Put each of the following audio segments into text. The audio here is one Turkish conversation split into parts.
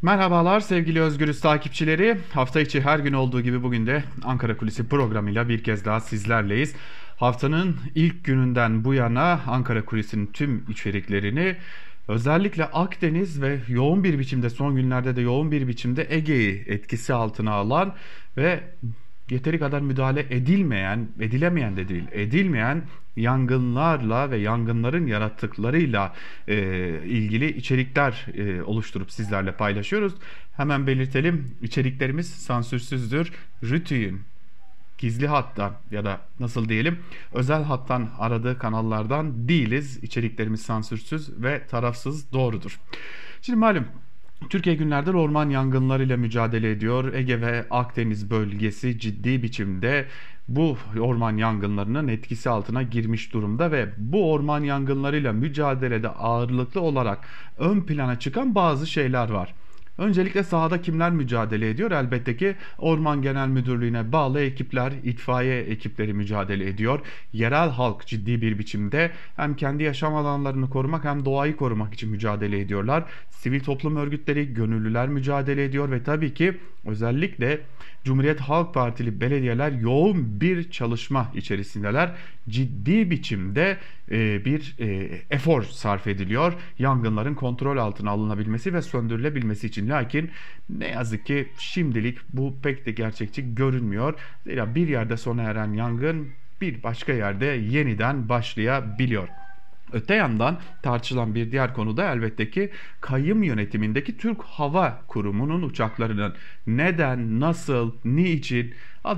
Merhabalar sevgili Özgürüz takipçileri. Hafta içi her gün olduğu gibi bugün de Ankara Kulisi programıyla bir kez daha sizlerleyiz. Haftanın ilk gününden bu yana Ankara Kulisi'nin tüm içeriklerini özellikle Akdeniz ve yoğun bir biçimde son günlerde de yoğun bir biçimde Ege'yi etkisi altına alan ve yeteri kadar müdahale edilemeyen de değil, edilmeyen yangınlarla ve yangınların yarattıklarıyla ilgili içerikler oluşturup sizlerle paylaşıyoruz. Hemen belirtelim, içeriklerimiz sansürsüzdür. Rütü'nün gizli hattan ya da nasıl diyelim özel hattan aradığı kanallardan değiliz. İçeriklerimiz sansürsüz ve tarafsız, doğrudur. Şimdi malum Türkiye günlerdir orman yangınlarıyla mücadele ediyor. Ege ve Akdeniz bölgesi ciddi biçimde bu orman yangınlarının etkisi altına girmiş durumda ve bu orman yangınlarıyla mücadelede ağırlıklı olarak ön plana çıkan bazı şeyler var. Öncelikle sahada kimler mücadele ediyor? Elbette ki Orman Genel Müdürlüğü'ne bağlı ekipler, itfaiye ekipleri mücadele ediyor. Yerel halk ciddi bir biçimde hem kendi yaşam alanlarını korumak hem doğayı korumak için mücadele ediyorlar. Sivil toplum örgütleri, gönüllüler mücadele ediyor ve tabii ki özellikle Cumhuriyet Halk Partili belediyeler yoğun bir çalışma içerisindeler. Ciddi biçimde bir efor sarf ediliyor yangınların kontrol altına alınabilmesi ve söndürülebilmesi için. Lakin ne yazık ki şimdilik bu pek de gerçekçi görünmüyor. Zira bir yerde sona eren yangın bir başka yerde yeniden başlayabiliyor. Öte yandan tartışılan bir diğer konu da elbette ki kayyum yönetimindeki Türk Hava Kurumu'nun uçaklarının neden, nasıl, niçin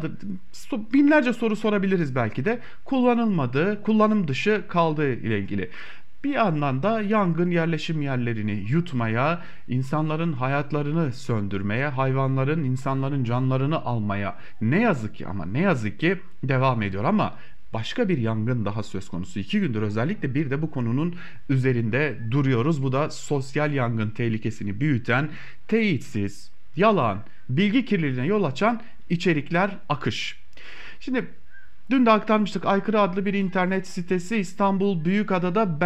binlerce soru sorabiliriz belki de kullanılmadığı, kullanım dışı kaldığı ile ilgili. Bir yandan da yangın yerleşim yerlerini yutmaya, insanların hayatlarını söndürmeye, hayvanların, insanların canlarını almaya ne yazık ki ama ne yazık ki devam ediyor. Ama başka bir yangın daha söz konusu. 2 gündür özellikle bir de bu konunun üzerinde duruyoruz. Bu da sosyal yangın tehlikesini büyüten, teyitsiz, yalan, bilgi kirliliğine yol açan içerikler, akış. Şimdi dün de aktarmıştık. Aykırı adlı bir internet sitesi İstanbul Büyükada'da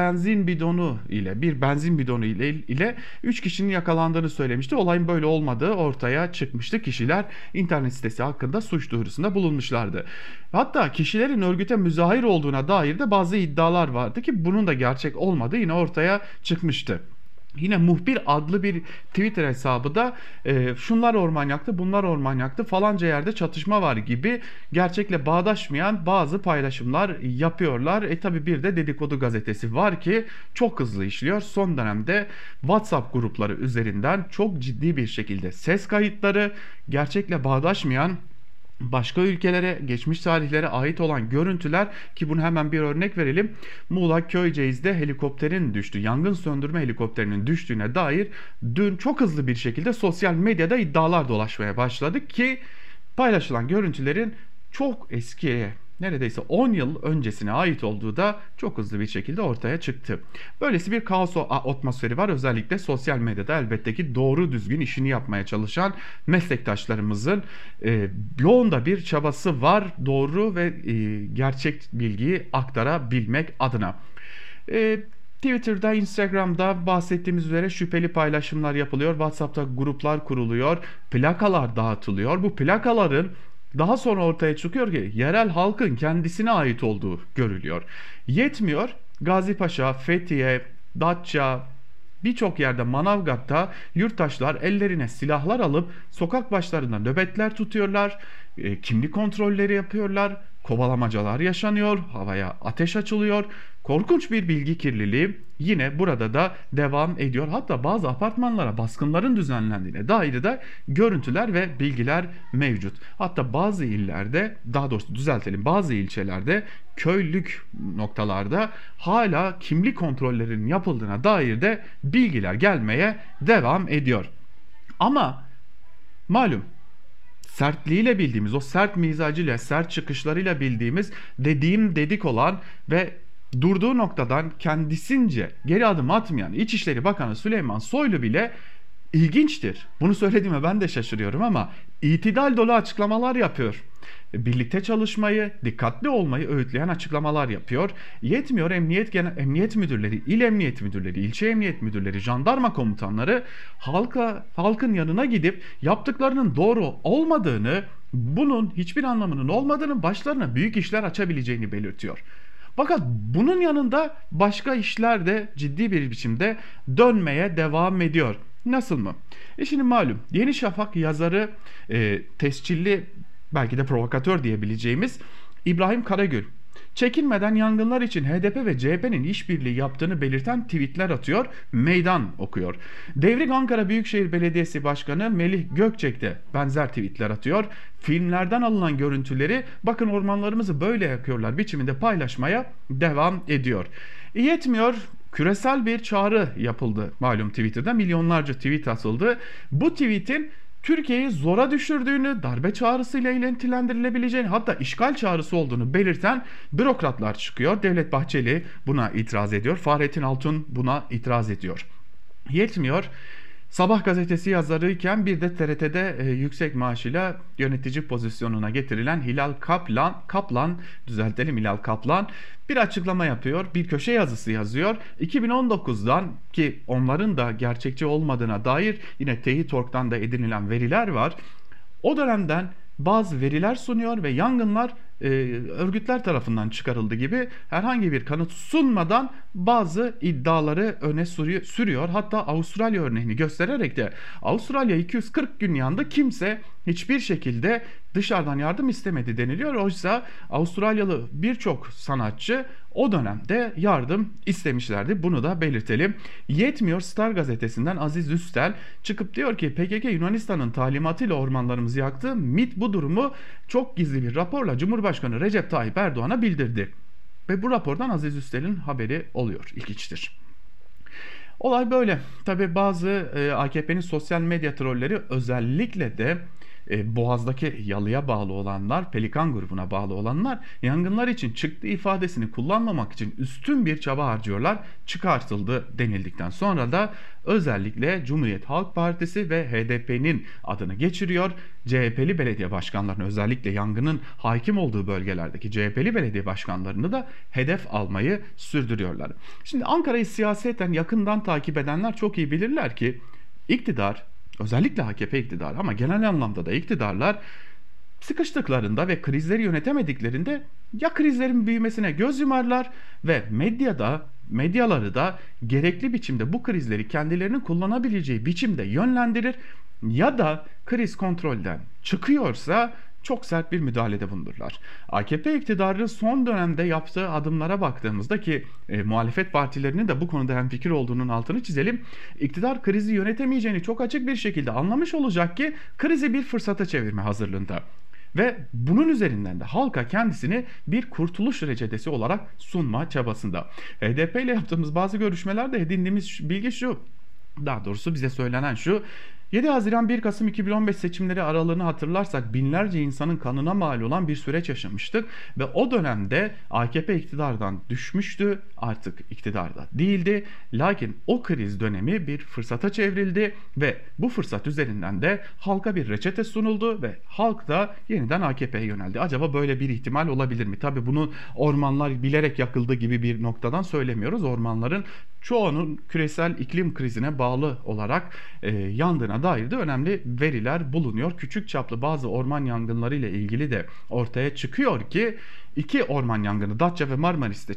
bir benzin bidonu ile 3 kişinin yakalandığını söylemişti. Olayın böyle olmadığı ortaya çıkmıştı. Kişiler internet sitesi hakkında suç duyurusunda bulunmuşlardı. Hatta kişilerin örgüte müzahir olduğuna dair de bazı iddialar vardı ki bunun da gerçek olmadığı yine ortaya çıkmıştı. Yine Muhbir adlı bir Twitter hesabı da şunlar orman yaktı, bunlar orman yaktı, falanca yerde çatışma var gibi gerçekle bağdaşmayan bazı paylaşımlar yapıyorlar. Tabi bir de Dedikodu Gazetesi var ki çok hızlı işliyor. Son dönemde WhatsApp grupları üzerinden çok ciddi bir şekilde ses kayıtları, gerçekle bağdaşmayan başka ülkelere, geçmiş tarihlere ait olan görüntüler ki bunu hemen bir örnek verelim. Muğla Köyceğiz'de helikopterin düştüğü, yangın söndürme helikopterinin düştüğüne dair dün çok hızlı bir şekilde sosyal medyada iddialar dolaşmaya başladı ki paylaşılan görüntülerin çok eskiye, neredeyse 10 yıl öncesine ait olduğu da çok hızlı bir şekilde ortaya çıktı. Böylesi bir kaos atmosferi var. Özellikle sosyal medyada elbette ki doğru düzgün işini yapmaya çalışan meslektaşlarımızın yoğun da bir çabası var. Doğru ve gerçek bilgiyi aktarabilmek adına. Twitter'da, Instagram'da bahsettiğimiz üzere şüpheli paylaşımlar yapılıyor. WhatsApp'ta gruplar kuruluyor. Plakalar dağıtılıyor. Bu plakaların daha sonra ortaya çıkıyor ki yerel halkın kendisine ait olduğu görülüyor. Yetmiyor. Gazipaşa, Fethiye, Datça, birçok yerde, Manavgat'ta yurttaşlar ellerine silahlar alıp sokak başlarında nöbetler tutuyorlar. Kimlik kontrolleri yapıyorlar. Kovalamacalar yaşanıyor. Havaya ateş açılıyor. Korkunç bir bilgi kirliliği yine burada da devam ediyor. Hatta bazı apartmanlara baskınların düzenlendiğine dair de görüntüler ve bilgiler mevcut. Hatta bazı illerde, daha doğrusu düzeltelim, bazı ilçelerde, köylük noktalarda hala kimlik kontrollerinin yapıldığına dair de bilgiler gelmeye devam ediyor. Ama malum sertliğiyle bildiğimiz, o sert mizacıyla, sert çıkışlarıyla bildiğimiz, dediğim dedik olan ve durduğu noktadan kendisince geri adım atmayan İçişleri Bakanı Süleyman Soylu bile ilginçtir. Bunu söylediğime ben de şaşırıyorum ama itidal dolu açıklamalar yapıyor. birlikte çalışmayı, dikkatli olmayı öğütleyen açıklamalar yapıyor. Yetmiyor, emniyet müdürleri, il emniyet müdürleri, ilçe emniyet müdürleri, jandarma komutanları halkın yanına gidip yaptıklarının doğru olmadığını, bunun hiçbir anlamının olmadığını, başlarına büyük işler açabileceğini belirtiyor. Fakat bunun yanında başka işler de ciddi bir biçimde dönmeye devam ediyor. Nasıl mı? Şimdi malum Yeni Şafak yazarı, tescilli, belki de provokatör diyebileceğimiz İbrahim Karagül çekinmeden yangınlar için HDP ve CHP'nin işbirliği yaptığını belirten tweetler atıyor, meydan okuyor. Devrik Ankara Büyükşehir Belediyesi Başkanı Melih Gökçek de benzer tweetler atıyor. Filmlerden alınan görüntüleri, bakın ormanlarımızı böyle yakıyorlar biçiminde paylaşmaya devam ediyor. Yetmiyor, küresel bir çağrı yapıldı malum Twitter'da, milyonlarca tweet atıldı. Bu tweetin Türkiye'yi zora düşürdüğünü, darbe çağrısıyla ilintilendirilebileceğini, hatta işgal çağrısı olduğunu belirten bürokratlar çıkıyor. Devlet Bahçeli buna itiraz ediyor. Fahrettin Altun buna itiraz ediyor. Yetmiyor. Sabah gazetesi yazarıyken bir de TRT'de yüksek maaşıyla yönetici pozisyonuna getirilen Hilal Kaplan bir açıklama yapıyor, bir köşe yazısı yazıyor. 2019'dan, ki onların da gerçekçi olmadığına dair yine Teyit.org'dan da edinilen veriler var. O dönemden bazı veriler sunuyor ve yangınlar örgütler tarafından çıkarıldı gibi herhangi bir kanıt sunmadan bazı iddiaları öne sürüyor. Hatta Avustralya örneğini göstererek de Avustralya 240 gün yandı, kimse hiçbir şekilde dışarıdan yardım istemedi deniliyor. Oysa Avustralyalı birçok sanatçı o dönemde yardım istemişlerdi. Bunu da belirtelim. Yetmiyor, Star gazetesinden Aziz Üstel çıkıp diyor ki PKK Yunanistan'ın talimatıyla ormanlarımızı yaktı. MİT bu durumu çok gizli bir raporla Cumhurbaşkanı Recep Tayyip Erdoğan'a bildirdi. Ve bu rapordan Aziz Üstel'in haberi oluyor. İlginçtir. Olay böyle. Tabi bazı AKP'nin sosyal medya trolleri, özellikle de Boğaz'daki yalıya bağlı olanlar, Pelikan grubuna bağlı olanlar, yangınlar için çıktı ifadesini kullanmamak için üstün bir çaba harcıyorlar. Çıkartıldı denildikten sonra da özellikle Cumhuriyet Halk Partisi ve HDP'nin adını geçiriyor. CHP'li belediye başkanlarını, özellikle yangının hakim olduğu bölgelerdeki CHP'li belediye başkanlarını da hedef almayı sürdürüyorlar. Şimdi Ankara'yı siyaseten yakından takip edenler çok iyi bilirler ki iktidar, özellikle AKP iktidarı ama genel anlamda da iktidarlar, sıkıştıklarında ve krizleri yönetemediklerinde ya krizlerin büyümesine göz yumarlar ve medyaları da gerekli biçimde bu krizleri kendilerinin kullanabileceği biçimde yönlendirir, ya da kriz kontrolden çıkıyorsa çok sert bir müdahalede bulunurlar. AKP iktidarı son dönemde yaptığı adımlara baktığımızda, ki muhalefet partilerinin de bu konuda hemfikir olduğunun altını çizelim. İktidar krizi yönetemeyeceğini çok açık bir şekilde anlamış olacak ki krizi bir fırsata çevirme hazırlığında. Ve bunun üzerinden de halka kendisini bir kurtuluş reçetesi olarak sunma çabasında. HDP ile yaptığımız bazı görüşmelerde edindiğimiz bilgi şu, daha doğrusu bize söylenen şu: 7 Haziran 1 Kasım 2015 seçimleri aralığını hatırlarsak binlerce insanın kanına mal olan bir süreç yaşamıştık ve o dönemde AKP iktidardan düşmüştü, artık iktidarda değildi. Lakin o kriz dönemi bir fırsata çevrildi ve bu fırsat üzerinden de halka bir reçete sunuldu ve halk da yeniden AKP'ye yöneldi. Acaba böyle bir ihtimal olabilir mi? Tabii bunu ormanlar bilerek yakıldı gibi bir noktadan söylemiyoruz. Ormanların çoğunun küresel iklim krizine bağlı olarak yandığına dair de önemli veriler bulunuyor. Küçük çaplı bazı orman yangınları ile ilgili de ortaya çıkıyor ki iki orman yangını, Datça ve Marmaris'te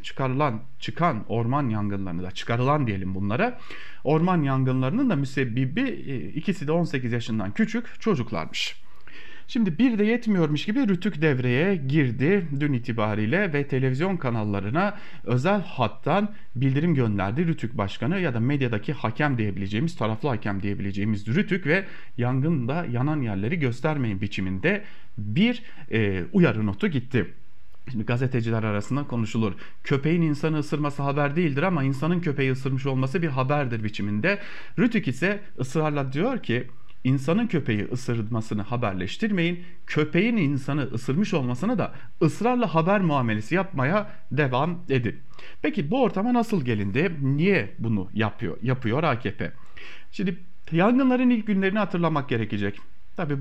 çıkan orman yangınlarını da, çıkarılan diyelim bunlara, orman yangınlarının da müsebbibi ikisi de 18 yaşından küçük çocuklarmış. Şimdi bir de yetmiyormuş gibi Rütük devreye girdi dün itibariyle ve televizyon kanallarına özel hattan bildirim gönderdi Rütük Başkanı, ya da medyadaki hakem diyebileceğimiz, taraflı hakem diyebileceğimiz Rütük, ve yangında yanan yerleri göstermeyin biçiminde bir uyarı notu gitti. Şimdi gazeteciler arasında konuşulur. Köpeğin insanı ısırması haber değildir ama insanın köpeği ısırmış olması bir haberdir biçiminde. Rütük ise ısrarla diyor ki İnsanın köpeği ısırmasını haberleştirmeyin, köpeğin insanı ısırmış olmasına da ısrarla haber muamelesi devam edin. Peki bu ortama nasıl gelindi? Niye bunu yapıyor AKP? Şimdi yangınların ilk günlerini hatırlamak gerekecek. Tabii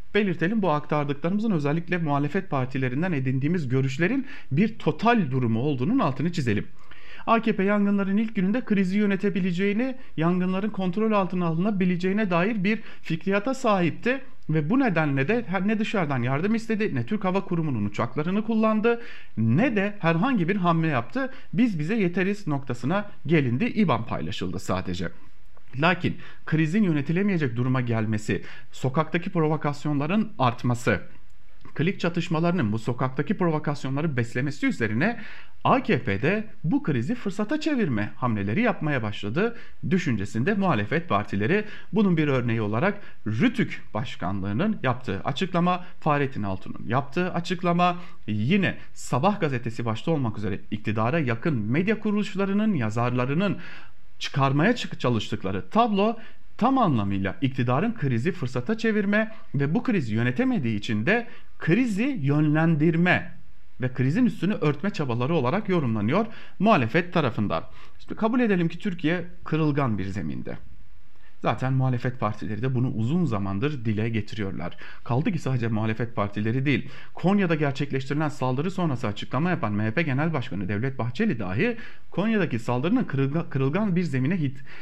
belirtelim, bu aktardıklarımızın özellikle muhalefet partilerinden edindiğimiz görüşlerin bir total durumu olduğunun altını çizelim. AKP yangınların ilk gününde krizi yönetebileceğini, yangınların kontrol altına alınabileceğine dair bir fikriyata sahipti. Ve bu nedenle de ne dışarıdan yardım istedi, ne Türk Hava Kurumu'nun uçaklarını kullandı, ne de herhangi bir hamle yaptı. Biz bize yeteriz noktasına gelindi. İBAN paylaşıldı sadece. Lakin krizin yönetilemeyecek duruma gelmesi, sokaktaki provokasyonların artması, klik çatışmalarının bu sokaktaki provokasyonları beslemesi üzerine AKP'de bu krizi fırsata çevirme hamleleri yapmaya başladı düşüncesinde muhalefet partileri. Bunun bir örneği olarak Rütük Başkanlığı'nın yaptığı açıklama, Fahrettin Altun'un yaptığı açıklama, yine Sabah gazetesi başta olmak üzere iktidara yakın medya kuruluşlarının, yazarlarının çıkarmaya çalıştıkları tablo tam anlamıyla iktidarın krizi fırsata çevirme ve bu krizi yönetemediği için de krizi yönlendirme ve krizin üstünü örtme çabaları olarak yorumlanıyor muhalefet tarafından. İşte kabul edelim ki Türkiye kırılgan bir zeminde. Zaten muhalefet partileri de bunu uzun zamandır dile getiriyorlar. Kaldı ki sadece muhalefet partileri değil, Konya'da gerçekleştirilen saldırı sonrası açıklama yapan MHP Genel Başkanı Devlet Bahçeli dahi Konya'daki saldırının kırılgan bir zemine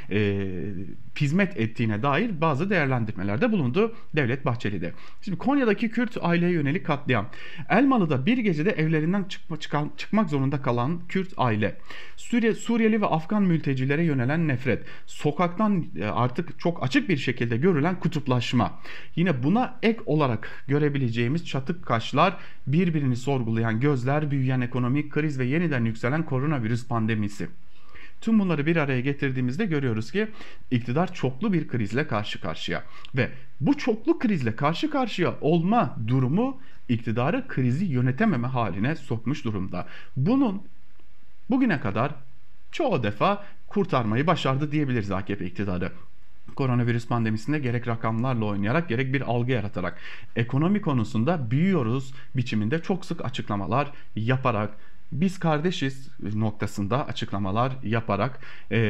hizmet ettiğine dair bazı değerlendirmelerde bulundu Devlet Bahçeli de. Şimdi Konya'daki Kürt aileye yönelik katliam, Elmalı'da bir gecede evlerinden çıkmak zorunda kalan Kürt aile, Suriyeli ve Afgan mültecilere yönelen nefret, sokaktan artık çok açık bir şekilde görülen kutuplaşma. Yine buna ek olarak görebileceğimiz çatık kaşlar, birbirini sorgulayan gözler, büyüyen ekonomik kriz ve yeniden yükselen koronavirüs pandemisi. Tüm bunları bir araya getirdiğimizde görüyoruz ki iktidar çoklu bir krizle karşı karşıya ve bu çoklu krizle karşı karşıya olma durumu iktidarı krizi yönetememe haline sokmuş durumda. Bunun bugüne kadar çoğu defa kurtarmayı başardı diyebiliriz AKP iktidarı. Koronavirüs pandemisinde gerek rakamlarla oynayarak gerek bir algı yaratarak ekonomi konusunda büyüyoruz biçiminde çok sık açıklamalar yaparak, biz kardeşiz noktasında açıklamalar yaparak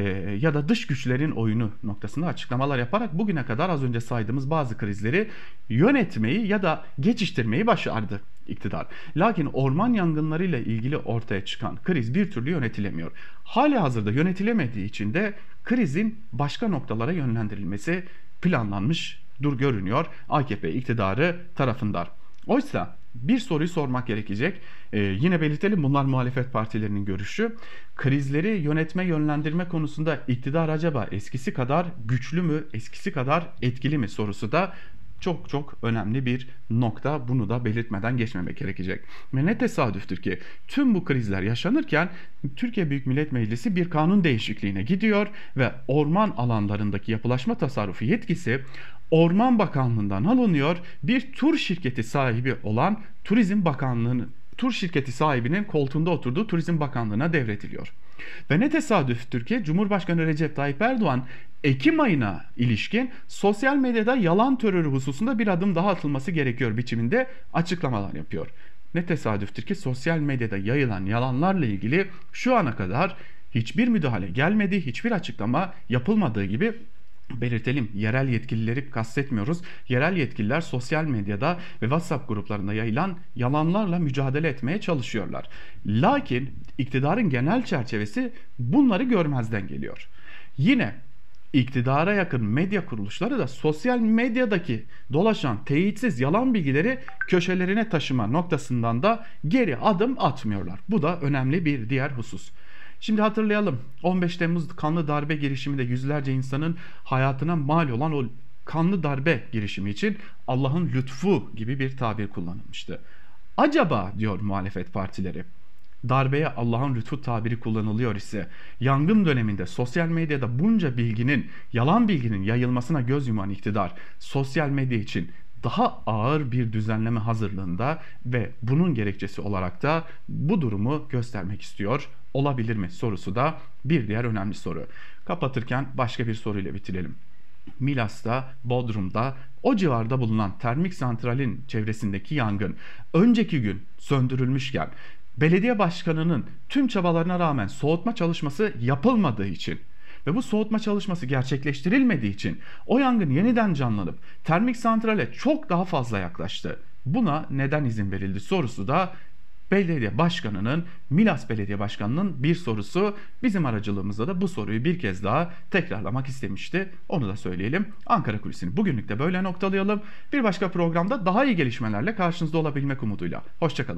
ya da dış güçlerin oyunu noktasında açıklamalar yaparak bugüne kadar az önce saydığımız bazı krizleri yönetmeyi ya da geçiştirmeyi başardı iktidar. Lakin orman yangınlarıyla ilgili ortaya çıkan kriz bir türlü yönetilemiyor. Halihazırda yönetilemediği için de krizin başka noktalara yönlendirilmesi planlanmış görünüyor AKP iktidarı tarafından. Oysa bir soruyu sormak gerekecek. Yine belirtelim, bunlar muhalefet partilerinin görüşü. Krizleri yönetme, yönlendirme konusunda iktidar acaba eskisi kadar güçlü mü, eskisi kadar etkili mi sorusu da çok çok önemli bir nokta. Bunu da belirtmeden geçmemek gerekecek. Ve ne tesadüftür ki tüm bu krizler yaşanırken Türkiye Büyük Millet Meclisi bir kanun değişikliğine gidiyor ve orman alanlarındaki yapılaşma tasarrufu yetkisi Orman Bakanlığı'ndan alınıyor. Bir tur şirketi sahibi olan Turizm Bakanlığı'nın tur şirketi sahibinin koltuğunda oturduğu Turizm Bakanlığı'na devrediliyor. Ve ne tesadüftür ki Cumhurbaşkanı Recep Tayyip Erdoğan Ekim ayına ilişkin sosyal medyada yalan terörü hususunda bir adım daha atılması gerekiyor biçiminde açıklamalar yapıyor. Ne tesadüftür ki sosyal medyada yayılan yalanlarla ilgili şu ana kadar hiçbir müdahale gelmedi, hiçbir açıklama yapılmadığı gibi belirtelim, yerel yetkilileri kastetmiyoruz. Yerel yetkililer sosyal medyada ve WhatsApp gruplarında yayılan yalanlarla mücadele etmeye çalışıyorlar. Lakin iktidarın genel çerçevesi bunları görmezden geliyor. Yine iktidara yakın medya kuruluşları da sosyal medyadaki dolaşan teyitsiz yalan bilgileri köşelerine taşıma noktasından da geri adım atmıyorlar. Bu da önemli bir diğer husus. Şimdi hatırlayalım, 15 Temmuz kanlı darbe girişiminde yüzlerce insanın hayatına mal olan o kanlı darbe girişimi için Allah'ın lütfu gibi bir tabir kullanılmıştı. Acaba diyor muhalefet partileri, darbeye Allah'ın lütfu tabiri kullanılıyor ise yangın döneminde sosyal medyada bunca bilginin, yalan bilginin yayılmasına göz yuman iktidar sosyal medya için daha ağır bir düzenleme hazırlığında ve bunun gerekçesi olarak da bu durumu göstermek istiyor olabilir mi sorusu da bir diğer önemli soru. Kapatırken başka bir soruyla bitirelim. Milas'ta, Bodrum'da, o civarda bulunan termik santralin çevresindeki yangın önceki gün söndürülmüşken belediye başkanının tüm çabalarına rağmen soğutma çalışması yapılmadığı için ve bu soğutma çalışması gerçekleştirilmediği için o yangın yeniden canlanıp termik santrale çok daha fazla yaklaştı. Buna neden izin verildi sorusu da belediye başkanının, Milas Belediye Başkanı'nın bir sorusu. Bizim aracılığımızda da bu soruyu bir kez daha tekrarlamak istemişti. Onu da söyleyelim. Ankara Kulisi'ni bugünlük de böyle noktalayalım. Bir başka programda daha iyi gelişmelerle karşınızda olabilmek umuduyla. Hoşçakalın.